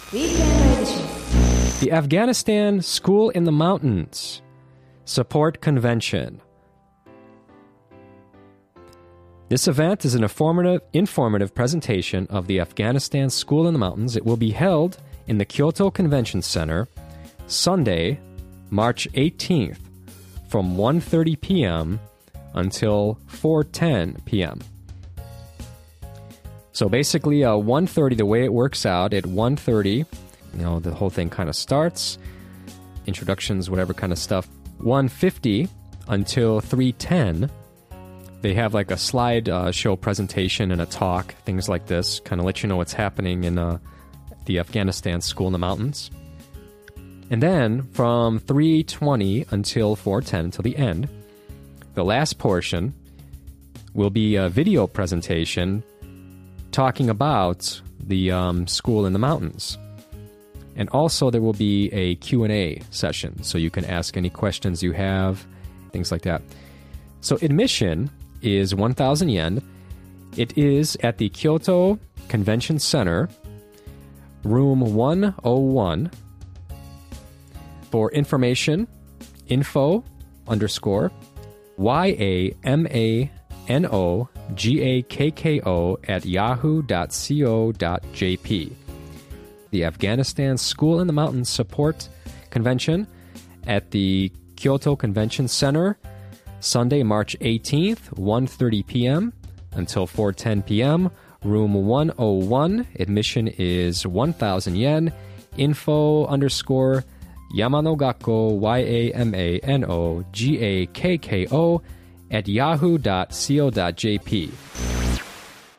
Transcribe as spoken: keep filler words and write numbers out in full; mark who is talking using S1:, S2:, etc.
S1: Weekend Edition.
S2: The Afghanistan School in the Mountains Support Convention. This event is an informative, informative presentation of the Afghanistan School in the Mountains. It will be held in the Kyoto Convention Center Sunday, March eighteenth from one thirty p.m. until four ten p.m. So basically, uh, one thirty, the way it works out, at one thirty, you know, the whole thing kind of starts, introductions, whatever kind of stuff. one fifty until three ten, they have like a slide uh, show presentation and a talk, things like this, kind of let you know what's happening in uh, the Afghanistan School in the Mountains. And then from three twenty until four ten, until the end, the last portion will be a video presentation talking about the um, school in the mountains. And also there will be a Q and A session, so you can ask any questions you have, things like that. So admission is one thousand yen. It is at the Kyoto Convention Center, room one oh one. For information, info underscore Y-A-M-A-N-O-G-A-K-K-O at yahoo dot co dot jp. The Afghanistan School in the Mountains Support Convention at the Kyoto Convention Center, Sunday, March eighteenth, one thirty p.m. until four ten p.m., room one oh one. Admission is one thousand yen. Info underscore Yamano Gakko, Y-A-M-A-N-O-G-A-K-K-O at yahoo dot co dot jp.